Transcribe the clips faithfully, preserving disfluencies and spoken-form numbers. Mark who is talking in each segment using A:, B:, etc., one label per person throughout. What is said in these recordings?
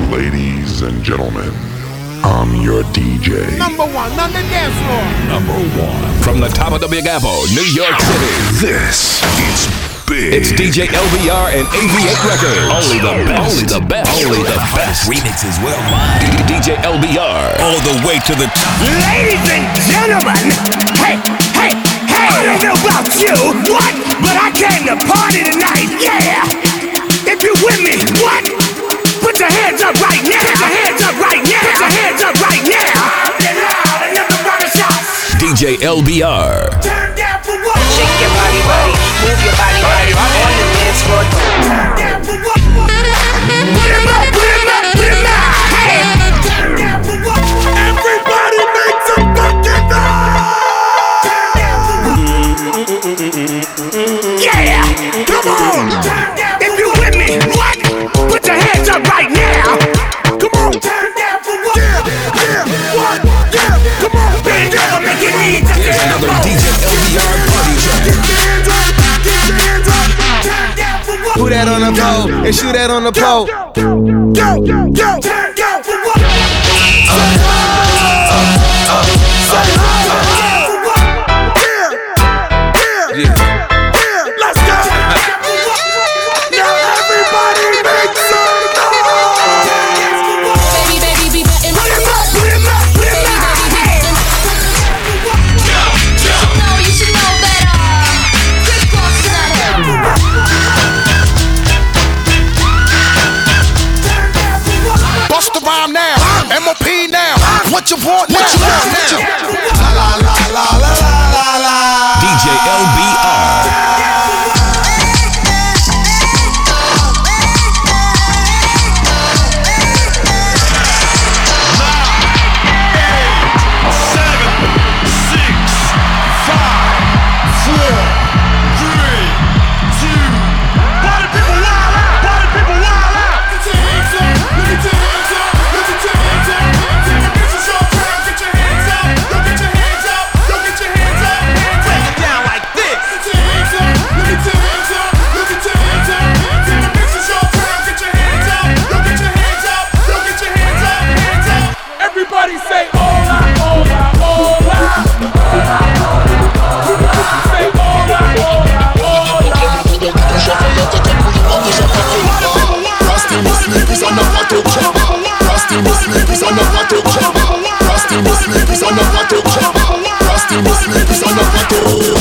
A: Ladies and gentlemen, I'm your D J.
B: Number one on the dance floor.
A: Number one.
C: From the top of the Big Apple, New York City.
A: This is big.
C: It's D J L B R and A V eight Records. Only the best. Only the best. Only the best.
D: Remixes worldwide.
C: D J L B R.
D: All the way to the top.
E: Ladies and gentlemen, hey, hey, hey, I don't know about you, what? But I came to party tonight, yeah. If you with me, what? Put your hands up right now. Put your hands up right now. Put your hands up right now. Get loud and never run a shot.
C: D J L B R.
E: Turn down for what?
F: Shake your body, body. Move your body, body. On the dance floor.
E: Turn down for what? Put him up, put him up, put him up. Hey. Turn down for what? Everybody make some fucking noise. Turn down for what? Yeah. Come on. Turn down. If you with me, what? Put your hands up right now. Come on. Turn down for what? Yeah, yeah, what? Yeah, come on. Bend down, make it easy.
C: Here's another D J L B R party track.
E: Get your hands up, get your hands up. Turn down for what?
G: Put that on the pole and shoot that on the pole.
E: Go, go, go. Turn down for what? Say ho. Say ho. For what? Yeah, yeah, yeah. Let's go. Now everybody make some noise.
H: Baby, baby, be betting.
E: Put him up, put him up, put him up. Hey.
H: No, you should know better. Quick cross to the head.
G: Bust the rhyme now, M O P now. What you want now? What you want now? La la la la la la la.
C: D J L B R.
B: Everybody say hola, hola, hola. Say hola, hola, hola.
I: Frosty no sleep is on a water chop. Frosty no sleep is on a water chop. Frosty no sleep is on a water chop. Frosty no sleep is on a water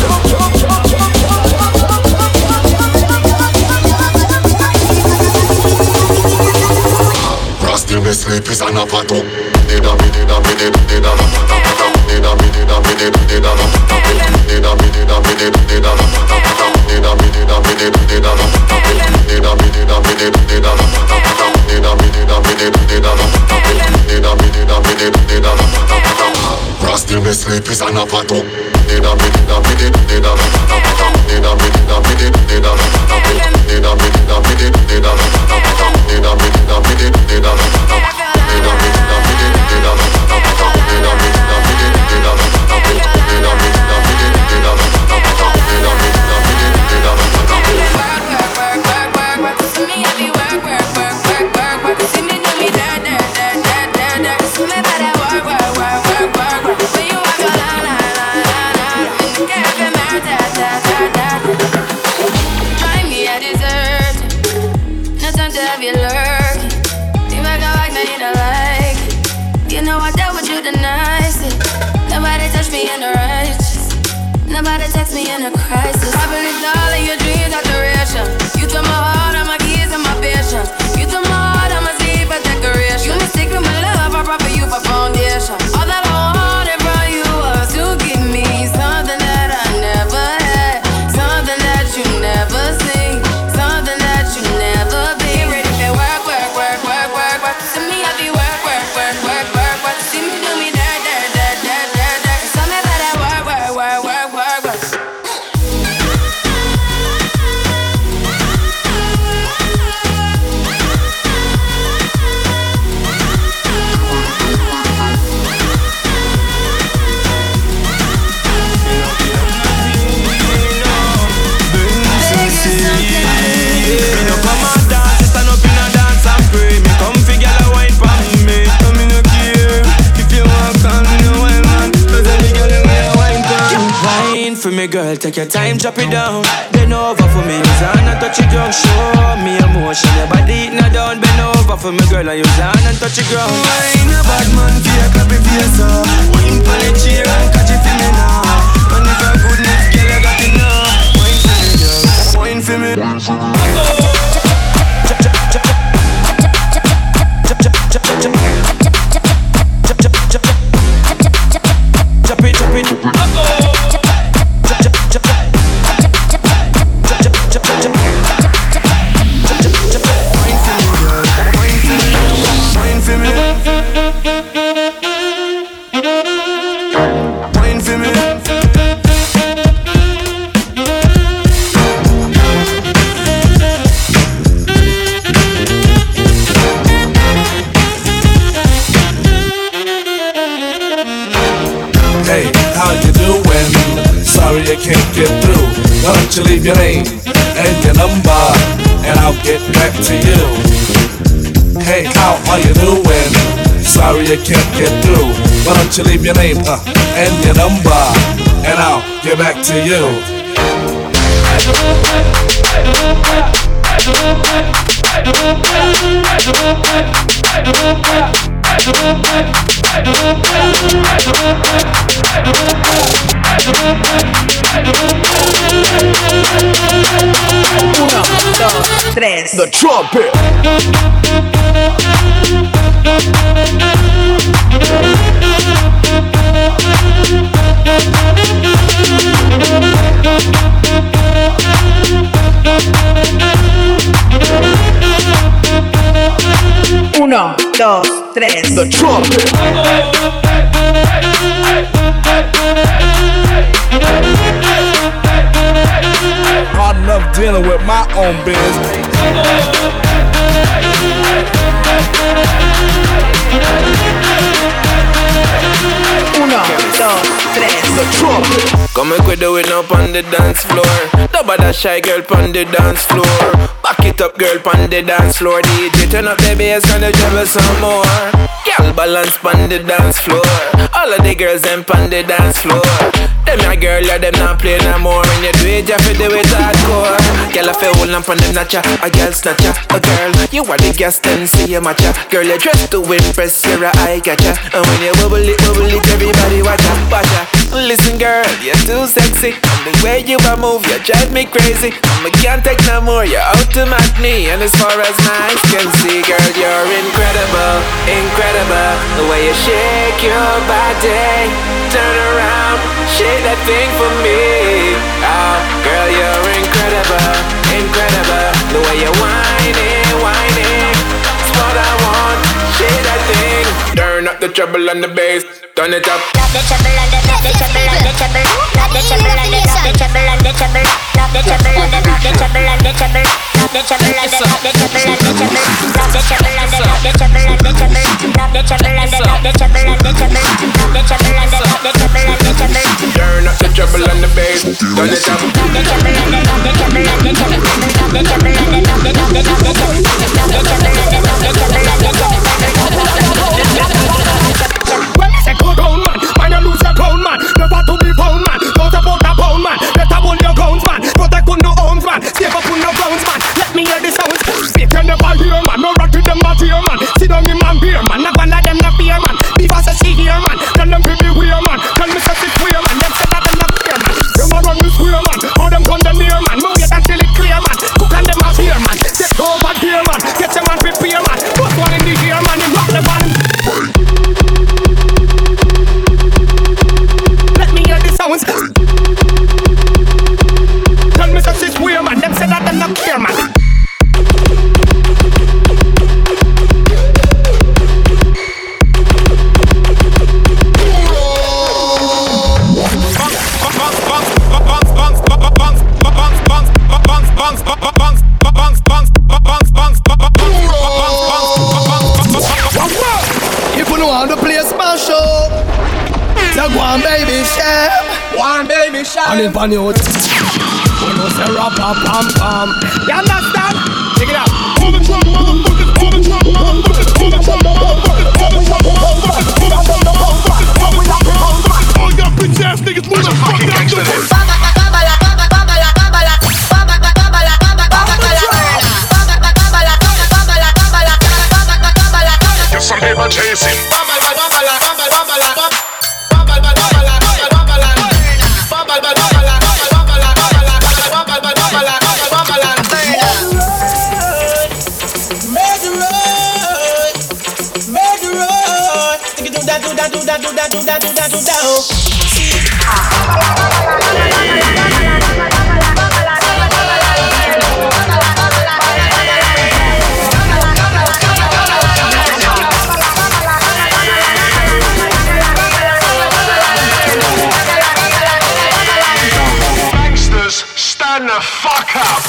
I: Frosty no sleep is on a water. Dida mi dida mi dida dida ma pata pata. Dida mi dida mi dida dida ma pata pata. Dida mi dida mi dida dida ma pata pata. Dida mi dida mi dida dida ma pata pata. Dida mi dida mi dida dida ma pata pata. Dida mi dida mi dida dida ma pata pata. Dida mi dida mi dida dida ma pata pata. Frosty no sleep is on a water. Dida mi dida mi dida dida ma pata pata. Dida mi dida mi dida dida ma pata pata. Dida mi dida mi dida dida ma pata pata. Dida mi dida mi dida dida ma pata pata. Dida mi dida mi dida dida ma pata pata. Dida mi dida mi dida dida ma pata pata. Dida mi dida mi dida dida ma pata pata. Dida mi dida mi dida dida ma pata pata.
H: Work, work, work, work, work. See me heavy work, work, work, work, work, work. See me do me da da da da da da. See me better work, work, work, work, work, work. When you walk a la la la la la. In the cafe, man, da da da da. Find me a dessert. No time to have you lurking. You make a like, now you don't like it. You know I dealt with you the nicest. Nobody touched me in the righteous. Nobody text me in a crisis. I believed all of your dreams are duration. You took my heart, all my keys, and my patience. You took my heart, all my sleep, a decoration. You mistake with my love, I brought for you for foundation. All that I wanted from you was to give me something that I never had, something that you never seen, something that you never been. Ready to work, work, work, work, work, work. See me happy, work, work, work, work, work, work. See me do me da da da da da da. Tell me about that work, work, work, work, work, work.
J: take your time, drop it down. Bend over for me, use hand and touch it down. Show me emotion, your body eating down. Bend over for me, girl, and use hand and touch it ground. I ain't a bad man, fear, clap it face up. Wine for the chair and catch it for me now. And if you're goodness, girl, I got it now. Wine for me, girl, wine for me. Chop it, chop it, wine for me, wine for me.
K: Hey, how you doing? Sorry I can't get through. Why don't you leave your name and your number, and I'll get back to you. Hey, how are you doing? Sorry I can't get through. Why don't you leave your name uh, and your number, and I'll get back to you.
F: Uno, dos, tres.
K: The trumpet.
F: Uno, dos, tres.
K: The trumpet. Hard enough dealing with my own business.
F: Uno, dos, tres.
K: The trumpet.
J: Come and we do it up on the dance floor. Nobody shy girl on the dance floor. Back it up girl on the dance floor. D J turn up the bass and the treble some more. Girl balance on the dance floor. All of the girls them on the dance floor. Them a girl, yeah, them not play no more. When you do it, you feel do it hardcore. Girl, I feel hold on from them notcha. A girl snatcher, a girl. You are the gas, then see you matcha. Girl, you dress to impress, you're a eye catcher. And when you bubble it, bubble it, everybody watch ya, watch ya. Listen, girl, you're too sexy. And the way you a move, you drive me crazy. I can't take no more, you're out to match me. And as far as my eyes can see, girl, you're incredible, incredible. The way you shake your body, turn around, shake that thing for me. Oh, girl, you're incredible, incredible. The way you're whining, whining, it's what I want. Shake that thing. Turn up the treble and the bass, turn it up.
L: Not the treble and the not the treble and the treble. Not the treble and the not the treble and the treble. Not the treble and the not the treble and the treble. Not the treble and the not the treble and the treble. Not the treble and the not the treble and the treble. Not the treble and the not the treble and the treble. Not the treble and the not the treble and the treble.
J: Turn up the treble and the bass, turn it up.
L: Not the treble and the not the treble and the treble. Not the treble and the not the treble and the treble. Not the treble and the not the treble and the treble.
E: Well, say go down, man. Man, you lose your crown, man. Never to be found, man. Don't about a pound, man. Better hold your guns, man. Protect on no arms, man. Save up on no grounds, man. Let me hear the sounds. Speak you never hear, man. No rock to them not here, man. Sit down in man beer, man. Not gonna them not fear, man. Because I see here, man. Tell them to be weird, man. Tell me such a queer, man. Them say that them not fear, man. Them a run the square, man. All them come them near, man. Move it until it clear, man. Cook and them out here, man. Take over here, man. Get your man prepare, man. Put one in the ear, man. You rock the band. Sounds. Tell me such is weird, man. Them say that them not care, man.
B: If you know how to play a smash up, so go on, baby, share.
E: One baby shot.
B: And if I know it, you know say rap, pam, pam, pam.
E: You understand? Check it out.
B: Pull the drum, motherfuckers, pull the drum, motherfuckers, pull the drum, motherfuckers, pull the drum, motherfuckers, pull the drum, motherfuckers, pull the drum, motherfuckers. All y'all bitch ass niggas, move the fuck out the way.
A: I'ma chase him. Gangsters, stand the fuck up.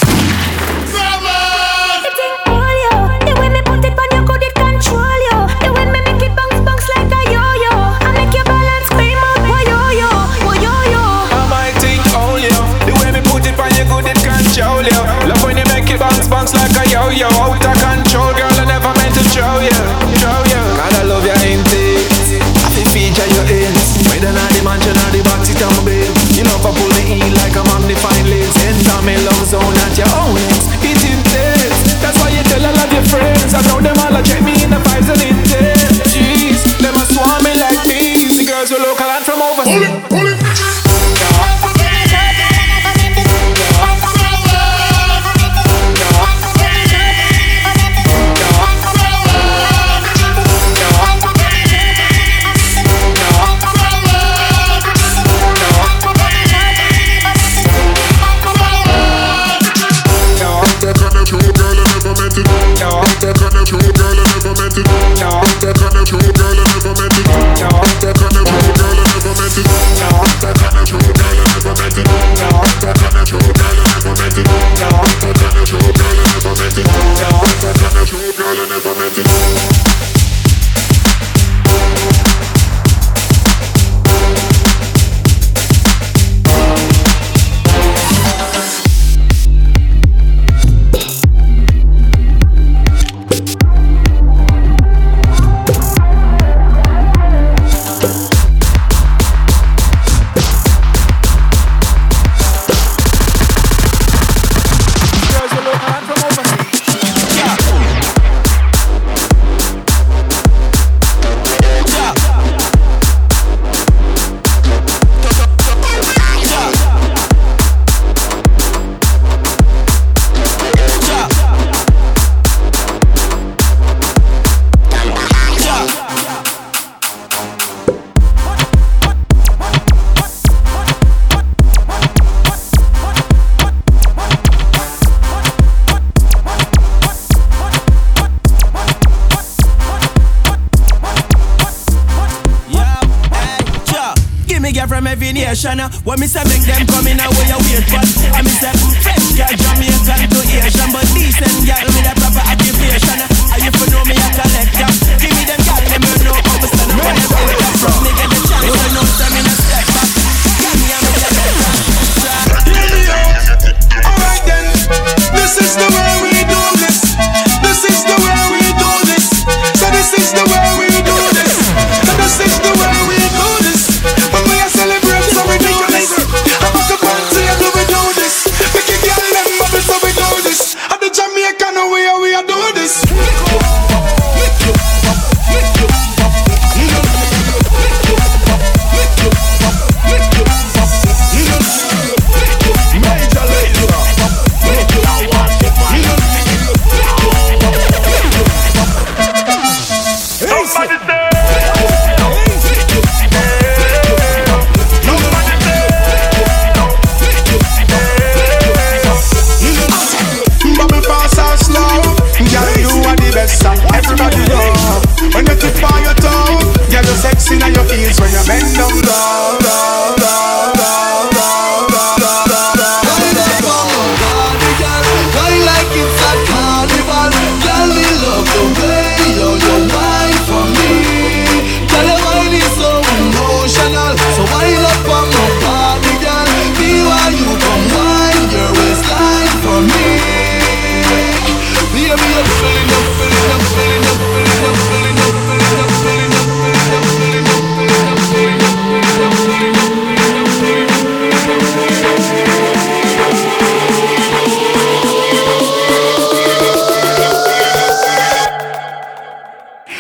J: Like a yo-yo, out of control, girl, I never meant to show you, show you. God, I love your intakes, I feel feature your ends. Whether not the mansion or the box, it on my bed. You love to pull the heel like a magnifying lens. Enter me love zone at your own ends. It's intense, that's why you tell all of your friends. I know them all, I check me in the vibes and intense. Jeez, them a swarm me like bees. The girls were local and from overseas. Pull it, pull it.
M: When me say make them come in, I way you wait for. I me say French girl, Jamaican to Asian, but decent girl with a proper occupation. And you for know me a collector. Give me them girl, them you know how to stand up when you build up from me get the chance, you know some in a step back. Give me a me a
B: hear me out. Alright then, this is the way we do this. This is the way we do this. So this is the way we do this. So this is the way we do this. When we are celebrating, so we do this. I'm a party and we do this. Make it girl them bubble, so we do this. At the Jamaican way we are do this.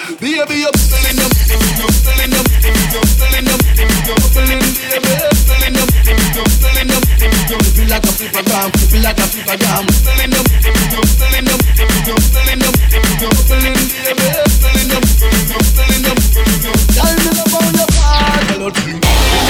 G: Baby, you're bubbling up, bubbling up, bubbling up, bubbling, baby, bubbling up, bubbling up. Feel like a flipper gram, feel like a flipper gram. Bubbling up, bubbling up, bubbling up, bubbling, baby, bubbling up, bubbling up. Tell me about your part, hello to you.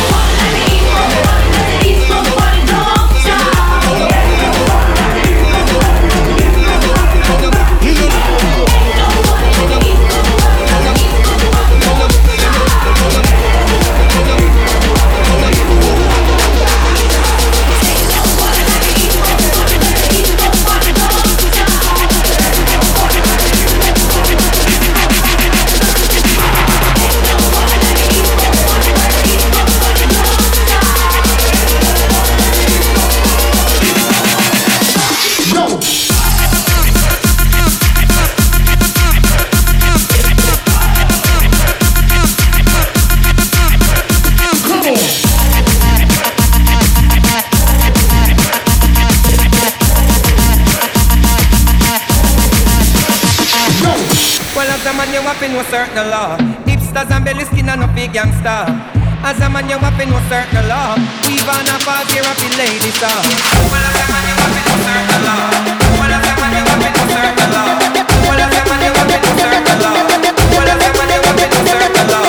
N: No certain law. Hipsters and belly skin and no big gangster. As a man you have to know certain law. We've on a party happy lady star. Well as a man you have to know certain law. Well as a man you have to know certain law. Well as a man you have to know certain law. Well as a man you have to know certain law.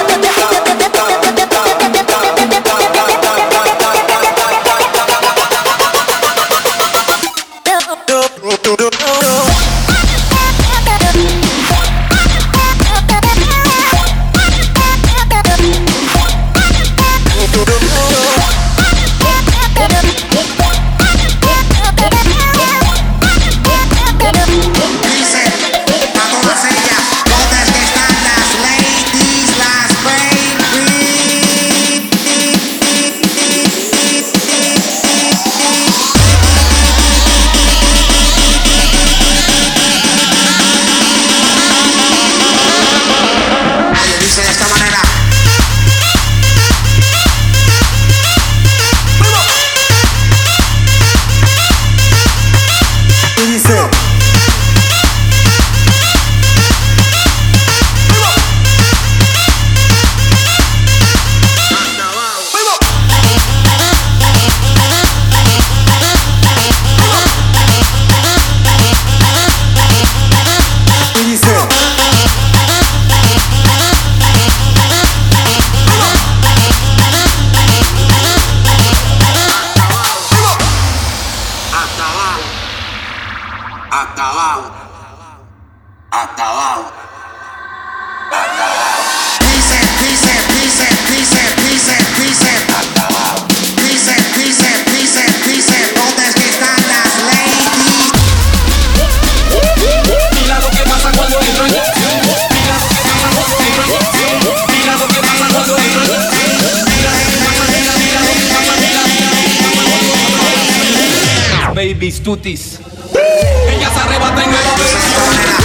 O: Babies, tutis. Ella se arrebata en nueva versión.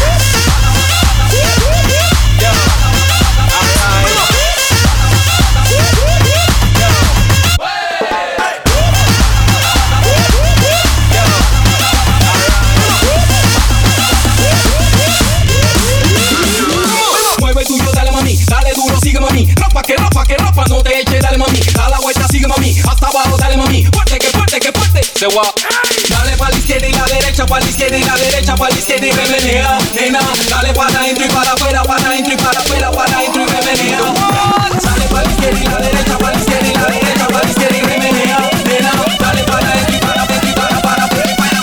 O: Mueve tuyo, dale mami, dale duro, sigue mami. Rapa que rapa que rapa, no te eche, dale mami. Da la vuelta, sigue mami, hasta abajo, dale mami. Fuerte que fuerte que fuerte. Se va. Dale pa' la izquierda y la derecha, pa' la izquierda y la derecha, pa' la izquierda y remenea, nena. Dale para adentro y para afuera, para adentro y para afuera, para adentro y remenea. Dale pa' la izquierda y la derecha, pa' la izquierda y la derecha, pa' la izquierda y remenea, nena. Dale para adentro y para adentro y para para afuera y para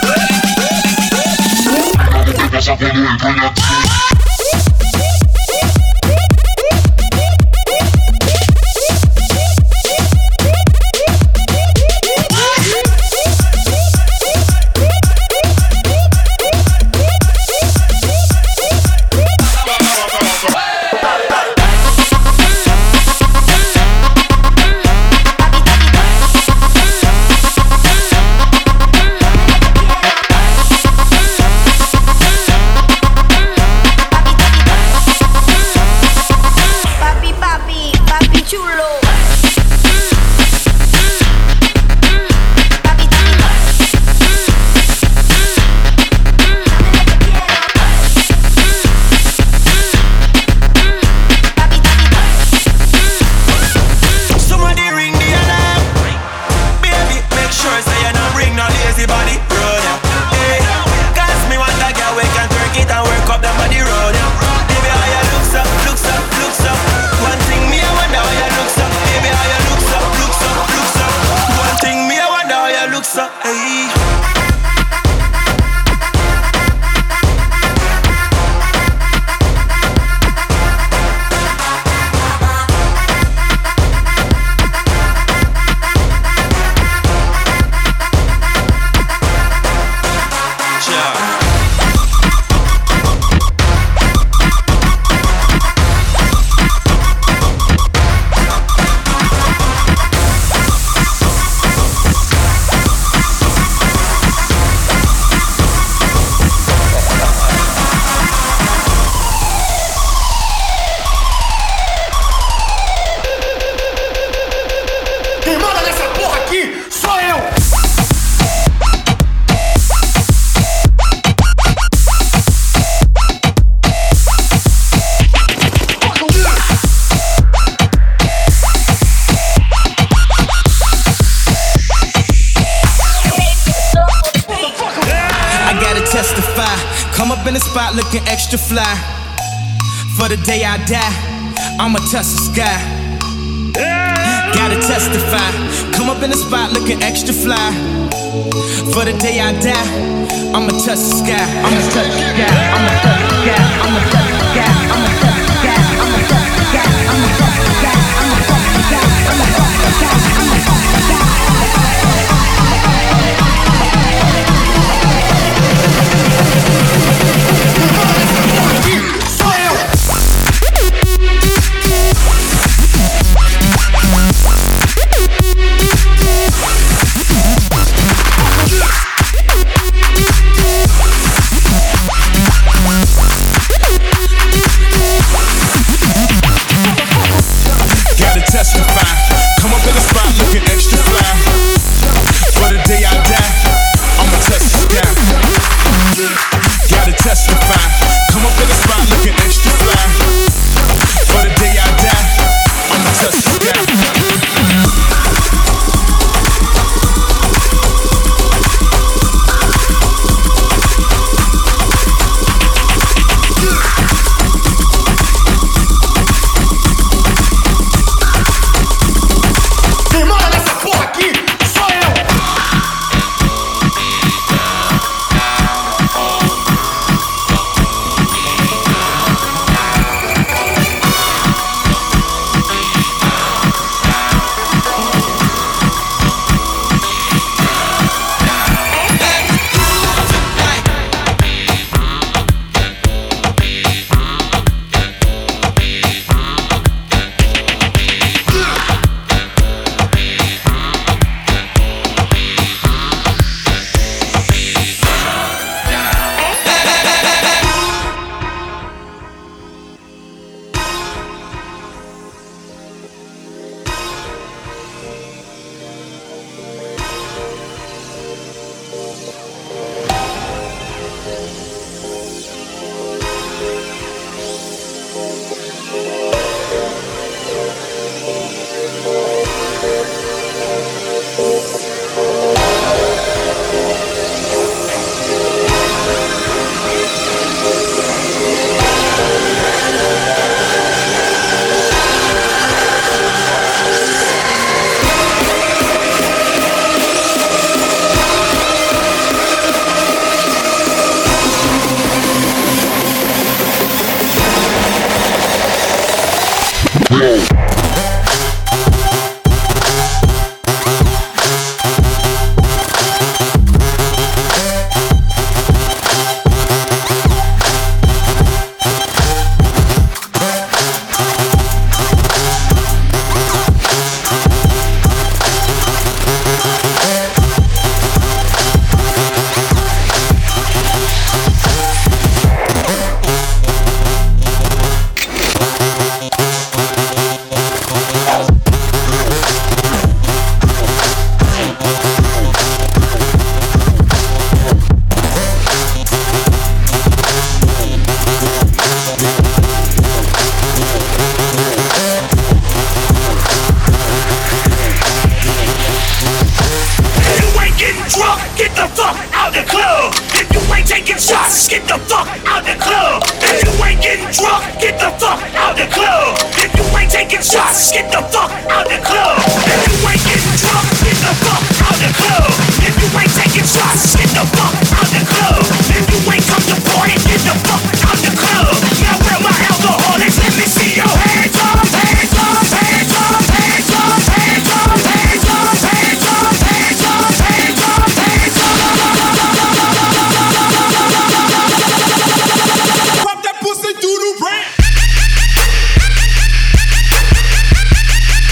O: afuera.
M: extra fly. For the day I die, I'ma touch the sky. Gotta testify. Come up in the spot looking extra fly. For the day I die, I'ma touch the sky. I'ma touch the sky. I'ma touch the sky. I'ma touch the sky. I'ma touch the sky. I'ma touch the sky. I'ma touch the sky. I'ma touch the sky. I'ma touch the sky. I'ma touch the sky.
B: Pop that pussy through the ramp.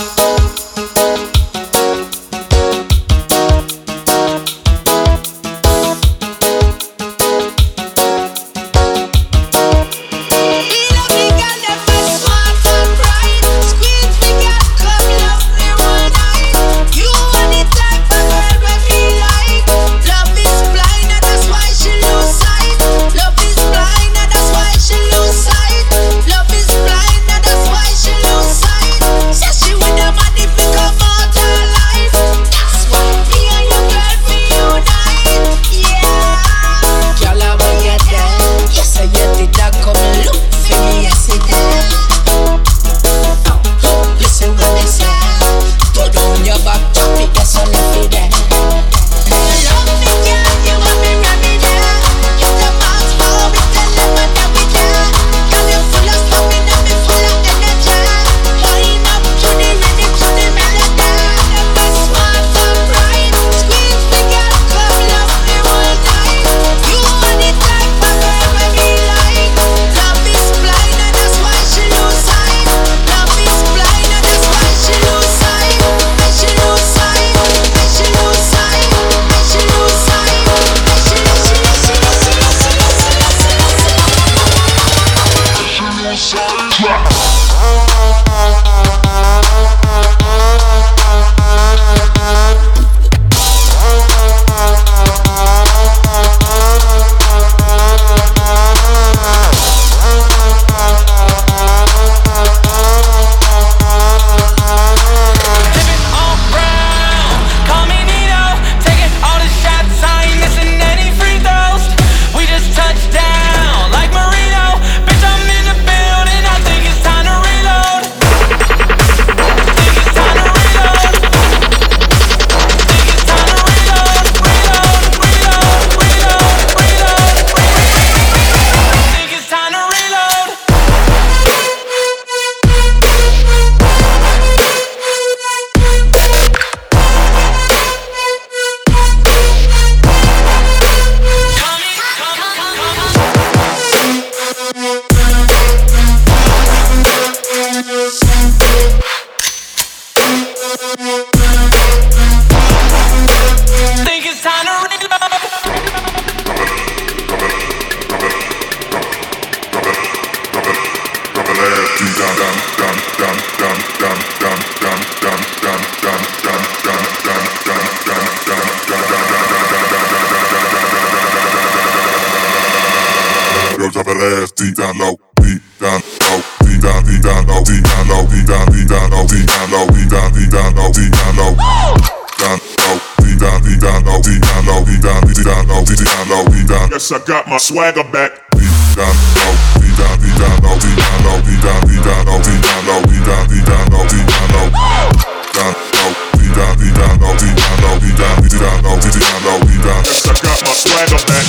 I: Girl, drop that ass deep down low, deep down low, deep down, deep down low, deep down low, deep down, deep down low, deep down low, deep down, deep down low, deep down low, down low, deep down, deep down low, deep down low, deep down, deep down low, deep down low, deep down. Yes, I got my swagger back. Deep down low, deep down, deep down low, deep down low, deep down, deep down low, deep down low, deep down, deep down low, deep down low, down low, deep down, deep down low, deep down low, deep down, deep down low, deep down low, deep down. Yes, I got my swagger back.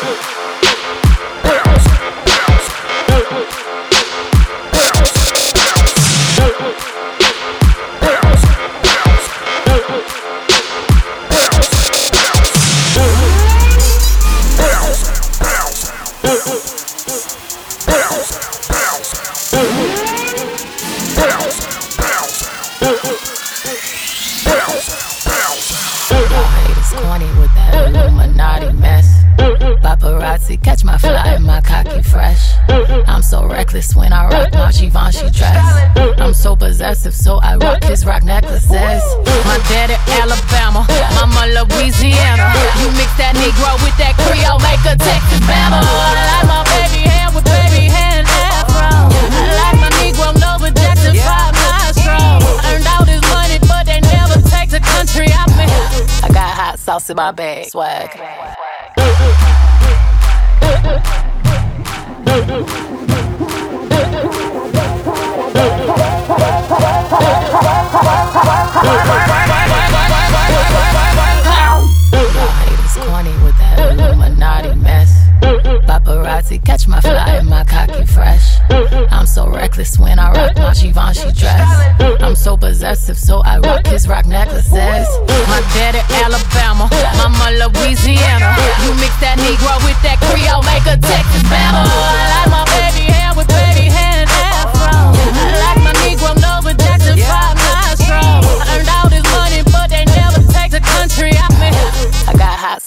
P: Catch my fly and my cocky fresh. I'm so reckless when I rock my Givenchy dress. I'm so possessive, so I rock his rock necklaces. My daddy Alabama, mama Louisiana. You mix that Negro with that Creole, make a Texas Bama. I like my baby hair with baby hair and afro. I like my Negro nose with Jackson five nostrils. Earned all this money, but they never take the country out me. I got hot sauce in my bag, swag. Paparazzi, catch my fly and my cocky fresh. I'm so reckless when I rock my Givenchy dress. I'm so possessive, so I rock his rock necklaces. My daddy Alabama, mama Louisiana. You mix that Negro with that Creole, make a Texas Bama. I like my baby hair with baby hair and afro. I like my Negro nose with Jackson five nostrils.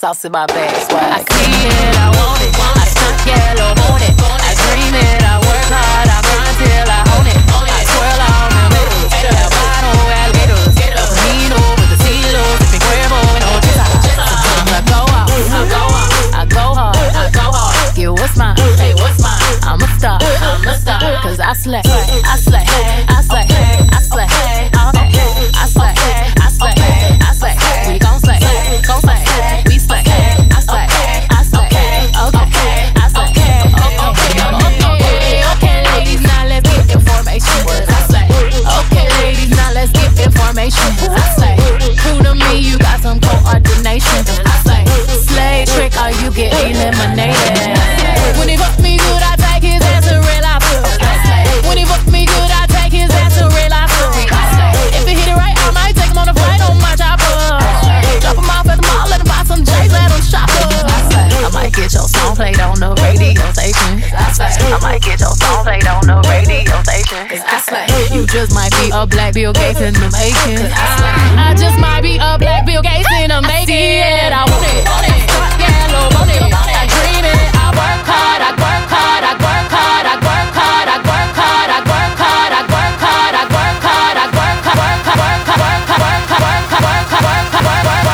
P: sauce in my bag. Swag. I see it, I want it. I stunt yellow, want it. I dream it, I work hard, I grind till I own it. I twirl on the middle, el bottle, alligators. Camino with the silos, if Cuervo and Otis. I go out, I go out, I go hard, I go hard. Get what's mine, hey, what's mine? I'm a star, I'm a star. Cause I slay, I slay, I slay, I slay, I slay, I slay, I slay, we gon' slay, gon' slay, we slay, I slay, I slay, okay, I slay, okay, okay, okay, ladies, now let's get information, I slay, okay, ladies, now let's get information, I slay, true to me, you got some coordination, I slay, slay trick or you get eliminated, when he fuck me good, I take his ass to real life, when he fuck me good, I take his ass to real life, if he hit it right, I might take him on a flight on my chopper. Drop him off at the mall, let him buy some J's, let him shop up. I might get your song played on the radio station. I might get your song played on the radio station. I slay. You just might be a black Bill Gates in the making. I just might be a black Bill Gates in the making. I want it, want it, yellow, want it. I dream it, I work hard, I work hard, I work hard, I work hard, I work hard, I work hard, I work hard, I work hard, I work hard, work hard, work hard, work hard, work hard, work hard, work hard, work hard, work hard.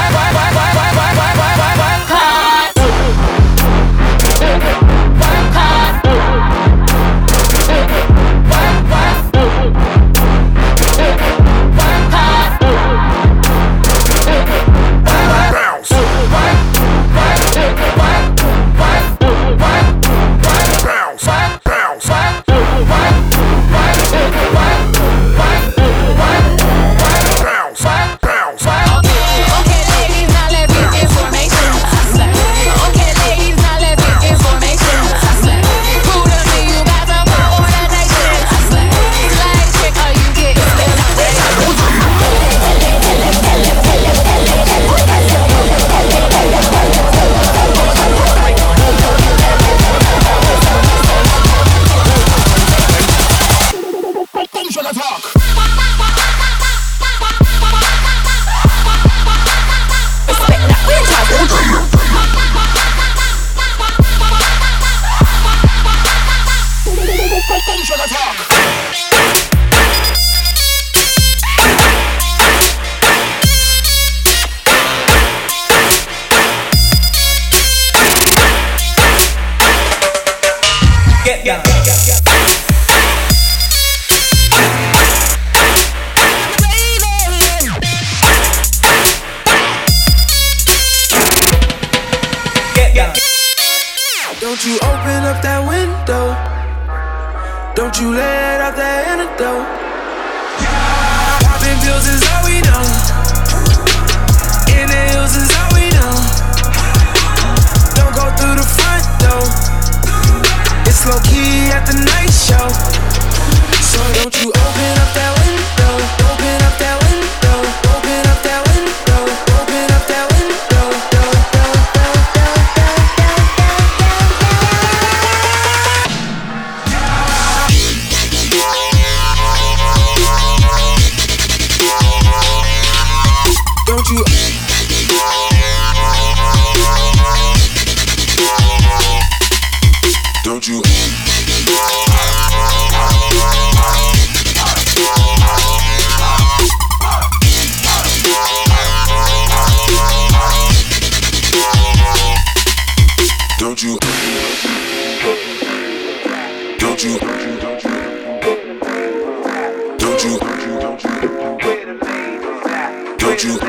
B: Don't you open up that window. Don't you let out that antidote. Popping pills is all we know. Inhales is all we know. Don't go through the front door. It's low key at the night show. So don't you open up that window. Open up that window. Open up that window. Open up that window. Don't you Don't you Don't you Don't you Don't you Don't you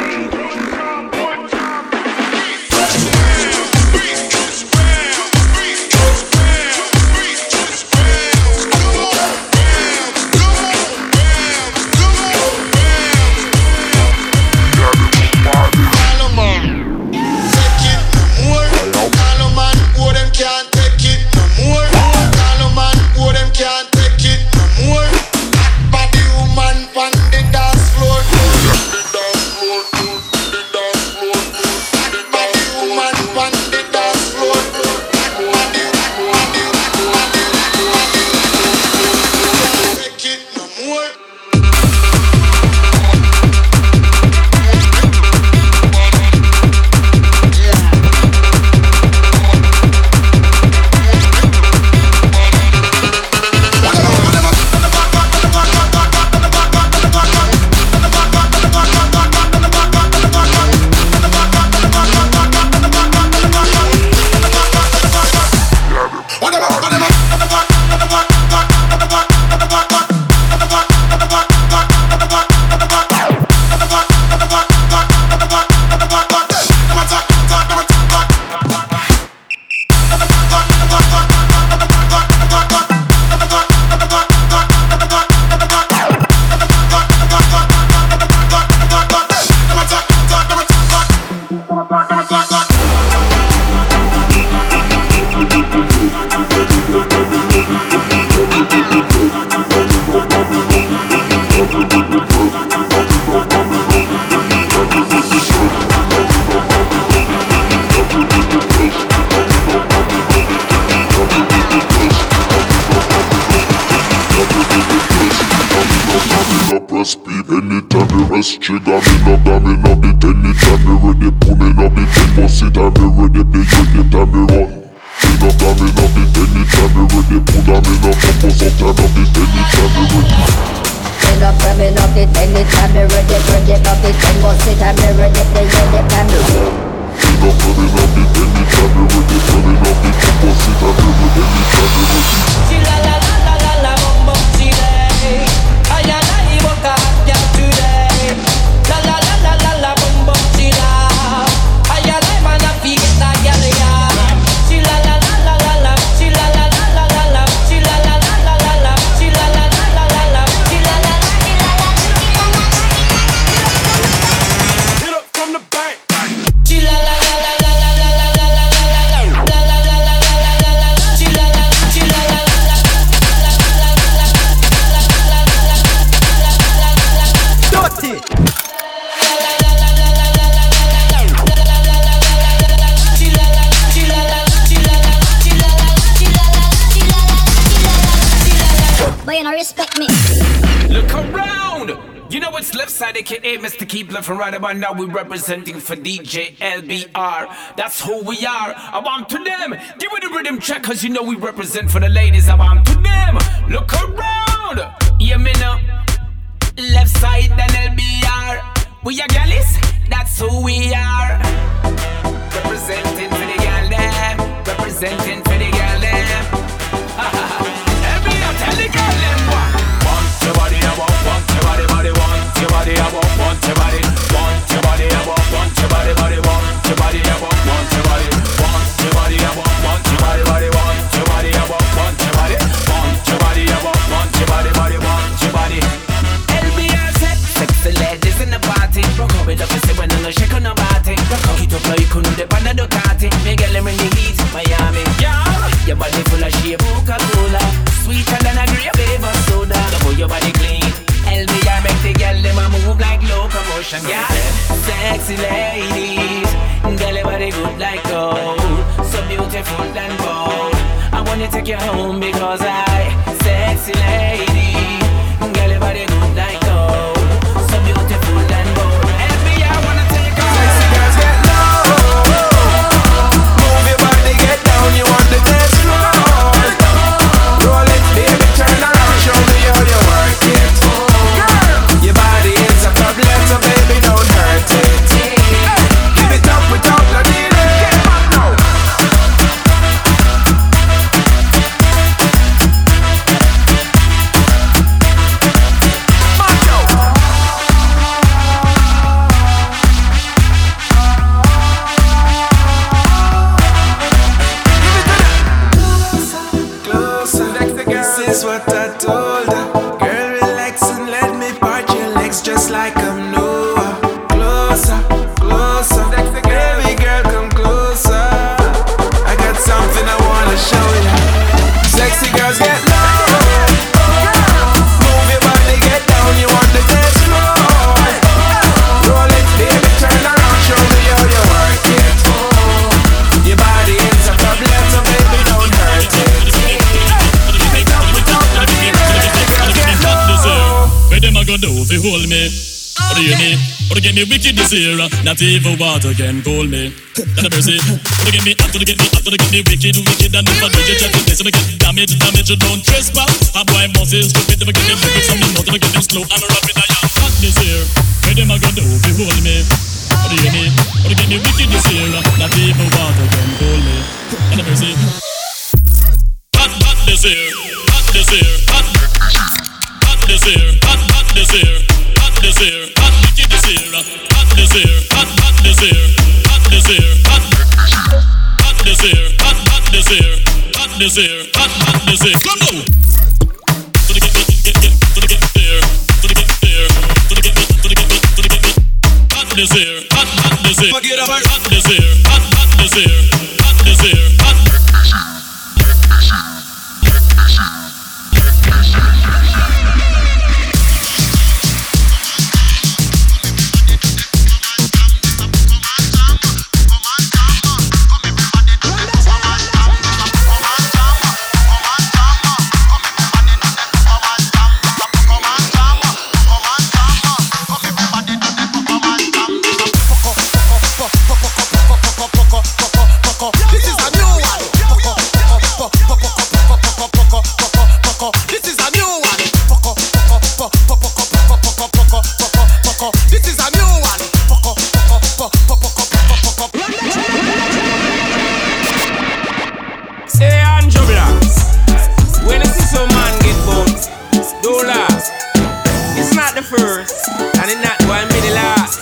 I: Dance floor. press trigger. Me no got me no bit anytime me ready. Pull me no bit ten bust it and me ready. Big anytime me run. Me no got me no bit anytime me ready. Pull on me no come bust up time no bit anytime me ready.
L: Me no got me no bit anytime me ready. Ready no bit ten bust it and me ready. Big anytime me run.
I: Me no got me no bit anytime me ready. Pull me no bit ten bust it and me ready. Anytime me ready.
Q: She la la la la la la bum bum she lay. I and I walk out yeah today. La la la la la la bum bum she la. I and I man a fi get a gyal ya. She la la la la la la. She la la la la la la. She la la la la la la. She la la la la la la. She la la la la la. Get up from the back. She la la la la la la la la la la la la la la la la la la. She la la she la la la la la la la la la la la. Dirty.
L: But you don't respect me.
J: Look around! You know it's left side, aka Mister Keep Left and Right about now. We representing for D J L B R. That's who we are. I want to them. Give me the rhythm check, cause you know we represent for the ladies. I want to them. Look around! Yeah, me know. Left side, then L B R. We are galleys, that's who we are. Representing for the gal them. Representing for the gal them. Every now tell the gal them what. Want your body, I want, want your body, body, want your body, I want, want your body. Want your body, I want, want your body, body, want your body, I want, want your body. Want your body, I want, want your body, body, want your body, I want, want your body. Want your body, I want, want your body, body, want your body. L B R set, sexy ladies in the party. Rock up it up and say when I'm not shaking no body. Rock up it up like you couldn't depend on the Ducati. Make a lemon the heat, Miami. Yeah, your body full of shape, Coca-Cola. Sweeter than a grape flavor soda. Double your body clean. L B R make the girl them a move like locomotion. Yeah, sexy ladies, girl your body good like gold, so beautiful and bold. I wanna take you home because I, sexy lady, girl your body good like gold, so beautiful and bold. L B R wanna take you home. Sexy girls get low, move your body, get down, you want the dance floor. Roll it, baby, turn around, show me how you work it. Girl, your body is a problem, so baby, don't hurt it. Give it up without no delay. Get back now. This is what I told her. Girl, relax and let me part your legs just like I'm Noah. Closer, closer. Baby girl, come closer. I got something I wanna show you. Sexy girls get low. Move your body, get down. You want the dance floor. Roll it, baby, turn around. Show me how you work it. Your body is a problem, so baby, don't hurt it.
R: Where them a go do fi hold me? What do you mean? What to get me wicked this year? Not even water can cool me. That a mercy. What to get me up? What to get me up? What to get me wicked, wicked? And if I do you check this, if I get damage, damage, you don't trespass. A boy must is stupid. If I get them wicked, some know. If I get them slow and rapid, I am hot this year. Where them a go do fi hold me? What do you mean? What to get me wicked this year? Not even water can cool me. That a mercy. Hot, hot this year. Hot this year. Hot. This year, hot, hot this year, hot this year, hot wicked this year, hot this year, hot, hot this year, hot this year, hot, hot this year, hot, hot this year, hot this year, hot, hot this year. Come on. To the get, get, get, to the get there, to the get there, to the get, to the get, to the get. Hot this year, hot, hot this year, forget about hot this year, hot, hot this year, hot this year, hot.
B: fuck up. This is a new one. Fuck up, fuck up, fuck fuck fuck up, fuck up, fuck up.
J: Say Andrew Blacks, when you see some man get bumped, don't laugh. It's not the first, and it's not going to be the last.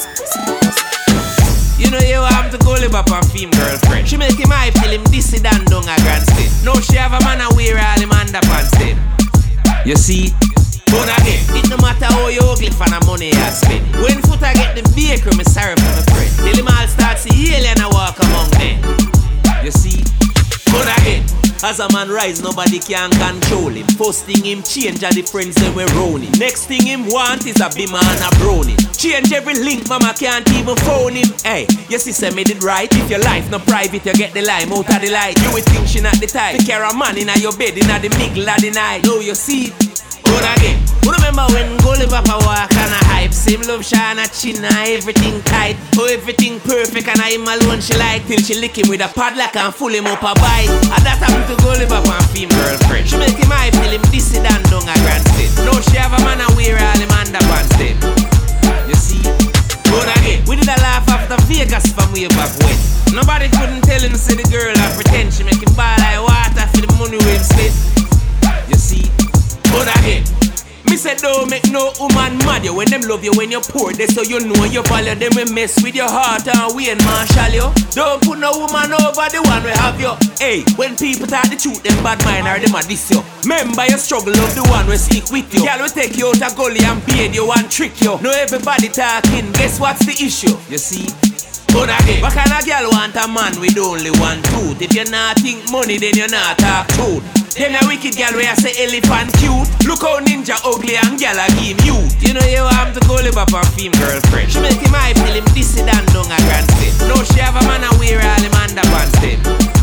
J: You know you have to go live up on film girlfriend. She make him hype till him dissy down down a grand state. Now she have a man and wear all him underpants them. You see? But again, it no matter how you ugly for the money I spend. When foot I get the bakery, me sorry for my friend. Till him all start see alien and walk among them. You see? But again, as a man rise, nobody can control him. First thing him change are the friends that we're rolling. Next thing him want is a bimmer and a brownie. Change every link, mama can't even phone him. Hey, your sister made it right. If your life not private, you get the lime out of the light. You would think she not the type. Take care of man in your bed in the middle of the night. No, you see. But again, you remember when Gully Papa walk and a hype. Same love shine a chin and everything tight. Oh, everything perfect and I him alone she like. Till she lick him with a padlock and full him up a bite. And that happened to Gully Papa and film girlfriend. She make him hype till him dissy down down a grand state. Now she have a man and wear all him underpants them. You see? But again, we did a laugh after Vegas from way back when. Nobody couldn't tell him say the girl and pretend she make him ball like water for the money we him split. You see? But again, me say don't make no woman mad you. When them love you when you're poor, they so you know you value them. We mess with your heart and we and marshal you. Don't put no woman over the one we have you. Hey, when people talk the truth, them bad mind or them a diss you. Remember your struggle of the one we stick with you. Girl we take you out a gully and paid you and trick you. Now everybody talking, guess what's the issue? You see? But again, what kind of girl want a man with only one tooth? If you not think money, then you not talk truth. Them a wicked girl where I say elephant cute. Look how ninja ugly and girl a give youth. You know you have to go live up on film girlfriend. She make him hype till him dissy down down a grand state. Now she have a man and wear all him underpants them.